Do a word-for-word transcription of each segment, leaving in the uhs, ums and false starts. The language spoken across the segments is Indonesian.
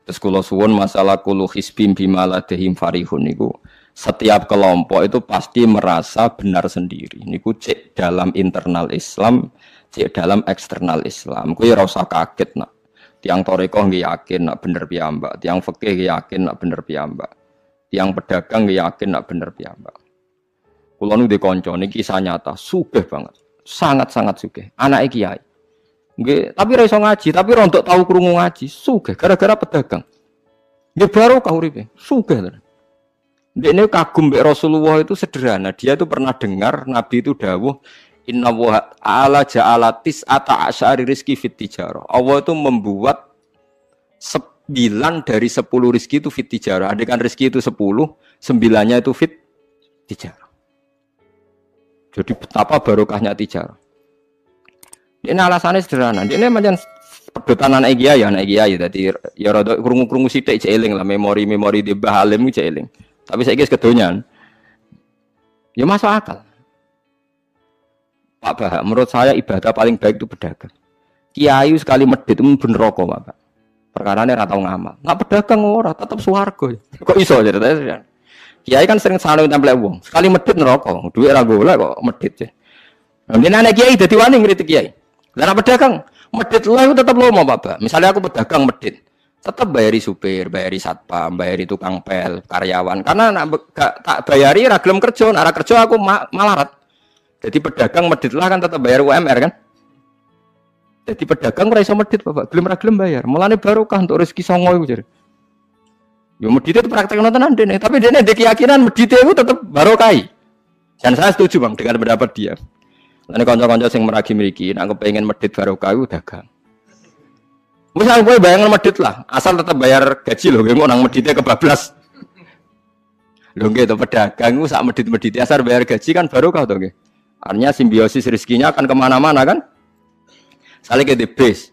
Terus kula suwun masalah kullu hisbim bima ladehim farihun niku setiap kelompok itu pasti merasa benar sendiri. Niku cek dalam internal Islam, cek dalam eksternal Islam. Kuwi ora usah kaget nak. Tiang torikoh nggih yakin nak bener piyambak, tiang fikih nggih yakin nak bener piyambak. Tiang pedagang nggih yakin nak bener piyambak. Kula nu dikonco niki kisah nyata, sugih banget. Sangat-sangat sugih. Anake kiai. Nggih, tapi ra iso ngaji, tapi rontok tahu krungu ngaji, sugih gara-gara pedagang. Nggih barokah uripe, sugih tenan. Dekne kagum mbek Rasulullah itu sederhana, dia itu pernah dengar Nabi itu dawuh inna wa ta'ala ja'ala tis'ata asyari rizki fit tijarah. Allah itu membuat sembilan dari sepuluh rizki itu fit tijarah. Andaikan rizki itu sepuluh, sembilannya itu fit tijarah. Jadi betapa barokahnya tijarah. Ini alasannya sederhana. Ini macam pedotan anak kiai ya, anak kiai. Jadi ya rada krungu-krungu sithik cek eling lah memori-memori di Mbah Halim cek eling. Tapi saiki wis kedonyan. Ya masuk akal. Pak Bah, menurut saya ibadah paling baik itu pedagang. Kiai sekali medit itu bener rokok, Pak. Perkarane ora tau ngamal. Nggak pedagang ora, tetep swarga. Kok iso ceritanya? Kiai kan sering salah tempel wong. Sekali medit neraka, duit ra golek kok medit. Nah, anak kiai dadi wani ngritik kiai. Lah pedagang medit lah itu tetap lomo Pak. Misalnya aku pedagang medit, tetap bayari supir, bayari satpam, bayari tukang pel, karyawan. Karena nak gak tak bayari ra gelem kerja, nek kerja aku ma malarat. Jadi pedagang medit lah kan tetap bayar U M R kan. Jadi pedagang ora iso medit Bapak, gelem ra gelem bayar. Mulane barokah untuk rezeki songo iku jare. Yo medit itu praktek tenan dene, tapi dene ndek keyakinan medit itu tetap barokah. Dan saya setuju Bang dengan pendapat dia. Ini kanca-kanca sing meragi mriki, nek kepengin medit barokah iku dagang. Misal kowe bayangan medit lah, asal tetap bayar gaji lho, engko nang medite kebablas. Lho nggih to pedagang iku sak medit-medite asal bayar gaji kan barokah to nggih. Artinya simbiosis rezekinya akan kemana-mana kan? Saling ke bis.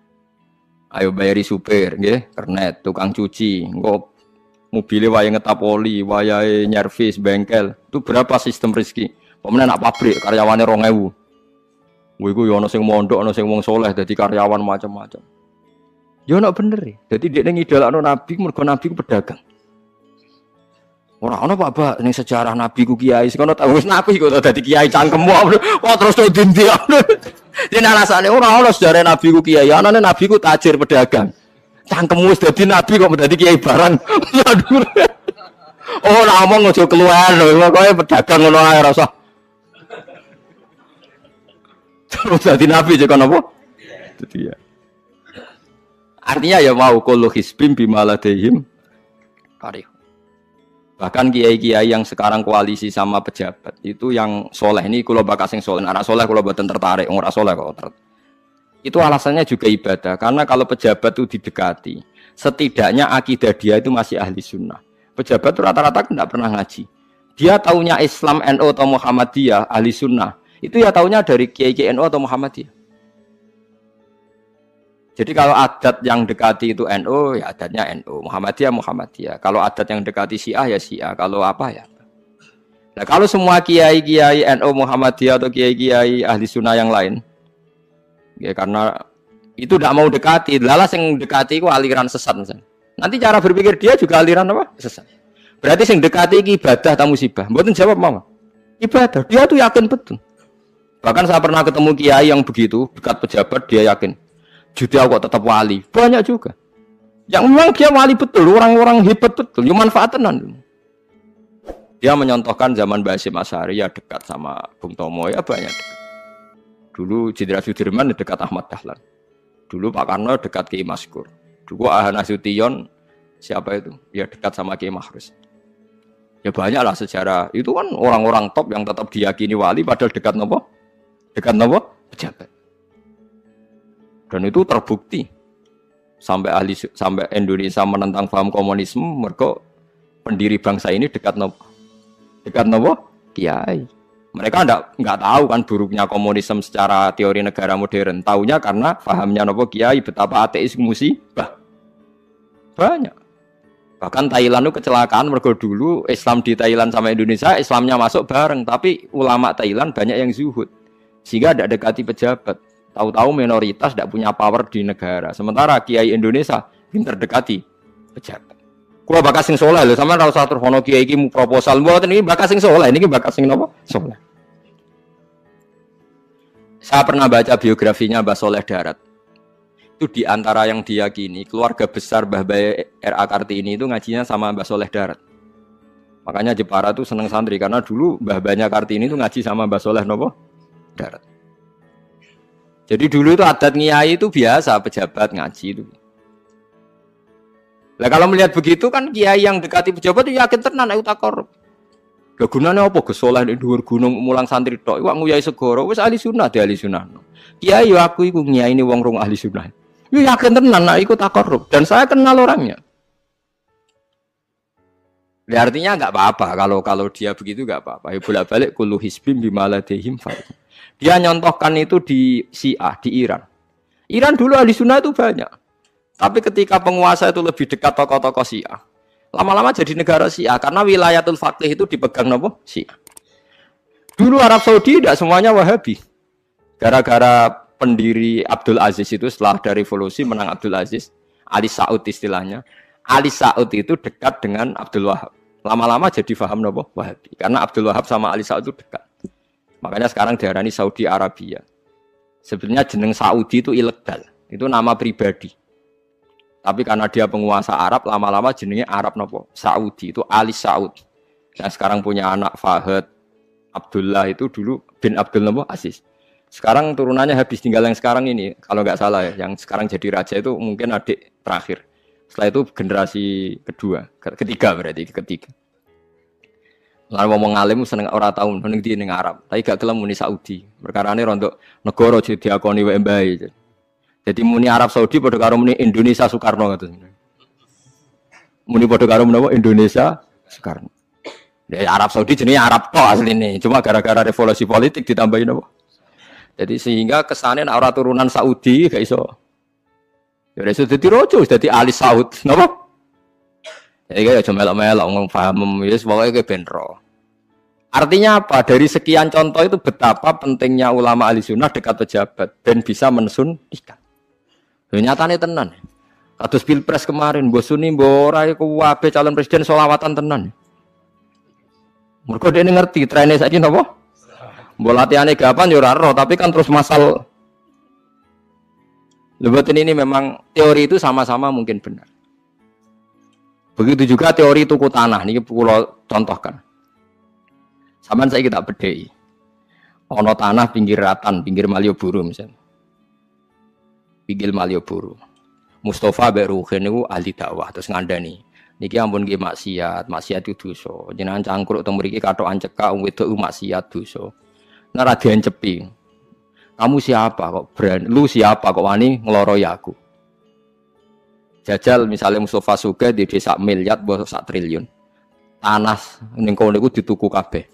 Ayo bayari supir nggih, kernet, tukang cuci, engko mobilnya wayahe ngetap oli, wayahe nyervis bengkel. Itu berapa sistem rezeki? Pemenang nak pabrik karyawannya rong ewu. Wih, gue yono sing mondok, yono sing wong soleh, jadi karyawan macam-macam. Yono bener ya. Jadi dia ngidolakno Nabi, mergo Nabi ku pedagang. Orang ono Pak Ba, ning sejarah Nabi ku kiai, sing ono tahu wis Nabi kok dadi kiai cangkemmu. Wah terus to dindi. Dene alasane ora ono sejarah Nabi ku kiai, anane Nabi ku tajir pedagang. Cangkemmu wis dadi Nabi kok dadi kiai barang. Oh, ora omong aja keluar lho, pokoke pedagang ngono ae rasa. Terus jadi Nabi juga apa? Itu dia. Artinya ya mau kullu hisbim bima ladehim farih. Bahkan kiai-kiai yang sekarang koalisi sama pejabat itu yang soleh ini kula bakal sing soleh, anak soleh kula boten tertarik, ora soleh kok. Itu alasannya juga ibadah karena kalau pejabat itu didekati, setidaknya akidah dia itu masih ahli sunnah. Pejabat itu rata-rata tidak pernah ngaji. Dia taunya Islam N U atau Muhammadiyah ahli sunnah. Itu ya taunya dari kiai-kiai N U atau Muhammadiyah. Jadi kalau adat yang dekati itu N U, ya adatnya N U. Muhammadiyah, Muhammadiyah. Kalau adat yang dekati Syiah, ya Syiah. Kalau apa ya. Nah kalau semua kiai-kiai N U, Muhammadiyah atau kiai-kiai ahli sunnah yang lain, ya karena itu tidak mau dekati. Lalas yang dekati itu aliran sesat misalnya. Nanti cara berpikir dia juga aliran apa? Sesat. Berarti yang dekati ini ibadah atau musibah. Mboten jawab mama. Ibadah. Dia tuh yakin betul. Bahkan saya pernah ketemu kiai yang begitu, dekat pejabat, dia yakin. Jadi aku tetap wali. Banyak juga. Yang memang dia wali betul, orang-orang hebat betul, yang manfaatan. Dia menyontohkan zaman Mbah Hasyim Asy'ari ya dekat sama Bung Tomo, ya banyak dekat. Dulu Jenderal Sudirman dekat Ahmad Dahlan. Dulu Pak Karno dekat Kiai Maskur. Dulu Ahmad Nasution, siapa itu? Ya dekat sama Kiai Mahrus. Ya banyaklah sejarah. Itu kan orang-orang top yang tetap diyakini wali, padahal dekat nopo? Dekat nopo? Pejabat. Dan itu terbukti sampai ahli sampai Indonesia menentang paham komunisme, mereka pendiri bangsa ini dekat nopo? Dekat nopo? Kiai. Mereka enggak enggak tahu kan buruknya komunisme secara teori negara modern. Taunya karena pahamnya nopo Kiai betapa ateis musibah. Banyak. Bahkan Thailand itu kecelakaan mergo dulu Islam di Thailand sama Indonesia, Islamnya masuk bareng, tapi ulama Thailand banyak yang zuhud. Sehingga tidak dekati pejabat. Tahu-tahu minoritas tidak punya power di negara. Sementara kiai Indonesia pinter dekati pejabat. Kulo bakas sing saleh lho, sampean ora usah terus ono kiai iki mu proposal mboten iki bakas sing saleh, niki bakas sing napa? Saleh. Saya pernah baca biografinya Mbah Soleh Darat. Itu di antara yang diyakini keluarga besar Mbah Bae R A Kartini itu ngajinya sama Mbah Soleh Darat. Makanya Jepara tuh seneng santri karena dulu Mbah Banyak Kartini itu ngaji sama Mbah Soleh napa? Darat. Jadi dulu itu adat ngiyai itu biasa pejabat ngaji itu. Lah kalau melihat begitu kan kiai yang dekati pejabat itu yakin tenan nek utak korup. Lah gunane apa Gus Soleh nek dhuwur gunung mulang santri tok iku nguyai segoro wis ahli sunnah de ahli sunnah. Kiai yo aku iku ngiyaini wong rong ahli sunnah. Yo yakin tenan nek iku tak korup dan saya kenal orangnya. Ya artinya enggak apa-apa kalau kalau dia begitu enggak apa-apa. Ya bolak-balik kullu hisbim bimaladehim fa. Dia nyontohkan itu di Syiah di Iran. Iran dulu ahli sunnah itu banyak. Tapi ketika penguasa itu lebih dekat tokoh-tokoh Syiah, lama-lama jadi negara Syiah karena wilayatul faqih itu dipegang nopo Syiah. Dulu Arab Saudi tidak semuanya Wahabi. Gara-gara pendiri Abdul Aziz itu setelah dari revolusi menang Abdul Aziz, Ali Saud istilahnya. Ali Saud itu dekat dengan Abdul Wahab. Lama-lama jadi faham nopo Wahabi karena Abdul Wahab sama Ali Saud itu dekat. Makanya sekarang diarani Saudi Arabia. Sebenarnya jeneng Saudi itu ilegal, itu nama pribadi. Tapi karena dia penguasa Arab, lama-lama jenenge Arab nopo Saudi itu Ali Saud. Yang sekarang punya anak Fahad Abdullah itu dulu bin Abdul nopo Aziz. Sekarang turunannya habis tinggal yang sekarang ini, kalau nggak salah ya, yang sekarang jadi raja itu mungkin adik terakhir. Setelah itu generasi kedua, ketiga berarti ketiga. Lalu ngomong alim seneng ora tau ning ndi ning Arab, tapi gak gelem muni Saudi. Perkarane rontok negara jadi diakoni wae mbae. Jadi muni Arab Saudi padha karo muni Indonesia Soekarno ngoten. Muni padha karo menapa Indonesia Soekarno. Ya Arab Saudi jenenge Arab tok asline, cuma gara-gara revolusi politik ditambahin apa. Jadi sehingga kesane nek ora turunan Saudi gak iso. Ya iso dadi raja, wis dadi Ali Saud, napa? Ya iki aja melok-melok ngomong paham wis pokoke ke ben ro. Artinya apa? Dari sekian contoh itu betapa pentingnya ulama ahli sunnah dekat pejabat dan bisa mensunnikan. Nyatane tenan. Kados Pilpres kemarin, mbok suni mbok ora iku wae calon presiden selawatan tenan. Mergo dene ngerti trene saiki napa? Mbok latihane gapan ya ora ero, tapi kan terus masal. Lebatin ini memang teori itu sama-sama mungkin benar. Begitu juga teori tuku tanah niki kula contohkan. Sampeyan saiki tak bedheki. Ana tanah pinggir Ratan, pinggir Malioboro misalnya. Pinggir Malioboro. Mustafa mbek Ruhin niku ahli dakwah terus ngandani. Niki ampun nggih maksiat, maksiat itu dosa. Jenengan cangkruk teng mriki kathokan cekak wong wedok maksiat dosa. Nek ra diencepi. Kamu siapa kok berani? Lu siapa kok wani ngloroi aku? Jajal misalnya Mustafa Sugih di desa miliar mbok sak triliun. Tanah ning kono niku dituku kabeh.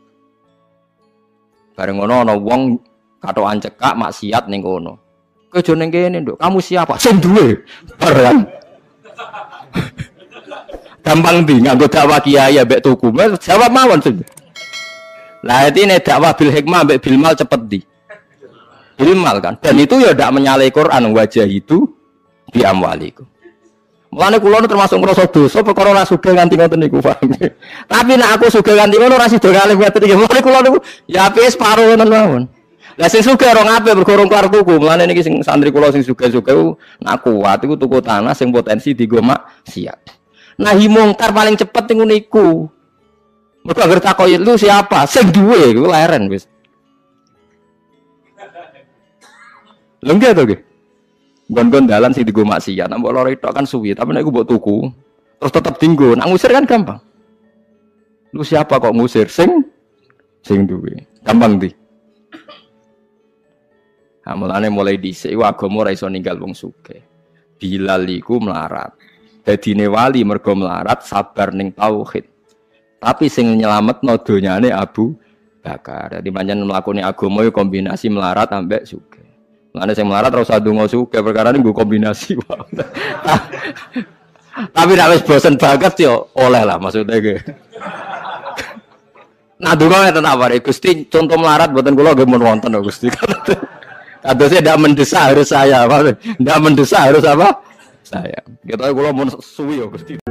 Bareng ngono ana wong kathokan cekak maksiat ning kono. Kowe aja ning kene, Nduk. Kamu siapa? Sing duwe. Bareng. Gampang ndi nganggo dakwah kiai ambek tuku. Jawab mawon sing. Lah iki nek dakwah bil hikmah ambek bil mal cepet ndi? Bil mal kan. Dan itu ya ndak menyalahi Quran wajah itu bi amwalikum. Mulane kula termasuk ngrasa dosa perkara ora sugih nganti ngoten niku, paham. Tapi nek aku sugih nganti ngono ora sida kalih ngoten iki. Mulane kula niku ya apik separo ngoten mawon. Lah sing sugih ora ngapik bergorong karo tuku. Mulane niki sing santri kula sing sugih-sugih nak kuat iku tuku tanah sing potensi dienggo maksiat. Nahi mungkar paling cepet niku niku. Mergo anggere takoki lu siapa? Sing duwe iku leren wis. Lha nggih to nggih. Gon-gon dalan sing dienggo maksiat, nek mbok loro tok kan suwi, tapi nek iku mbok tuku terus tetep dienggo, nak ngusir kan gampang. Lu siapa kok ngusir? Sing sing duwe. Gampang ndi? Nah, mulane mulai dhisik iku agama ora iso ninggal wong sugih. Bilal iku melarat. Dadine wali mergo melarat sabar ning tauhid. Tapi sing nyelametno donyane Abu Bakar. Dadi pancen mlakune agama yo kombinasi melarat ambek sugih. Mulane sing melarat ora usah ndonga sugih perkara niku kombinasi wae. Tapi nek wis bosen banget yo oleh lah maksudnya ge. Nah ndonga ngeten apa Gusti contoh melarat mboten kula nggih mun wonten Gusti. Kadosnya tidak mendesak harus saya, apa? Tidak mendesak harus apa? saya. Kita kalau mau suwi ya Gusti.